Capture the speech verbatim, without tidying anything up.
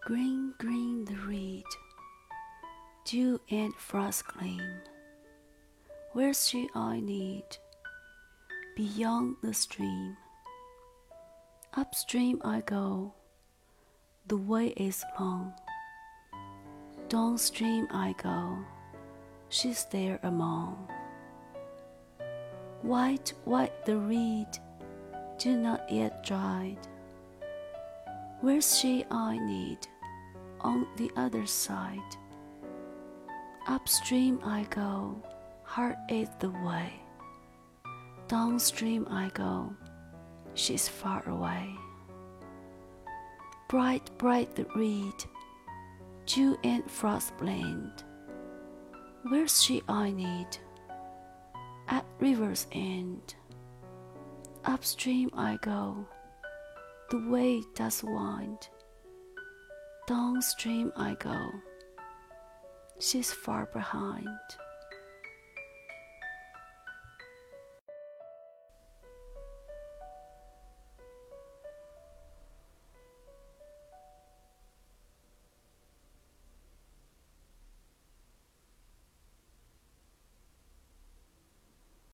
Green, green the reed, dew and frost gleam. Where shall I need? Beyond the stream. Upstream I go, the way is long. Downstream I go, she's there among. White, white the reed, dew not yet dried. Where shall I need? On the other side. Upstream I go, hard is the way. Downstream I go, she's far away. Bright, bright the reed, dew and frost blend. Where shall I need? At river's end. Upstream I go, the way does wind. Downstream I go, she's far behind.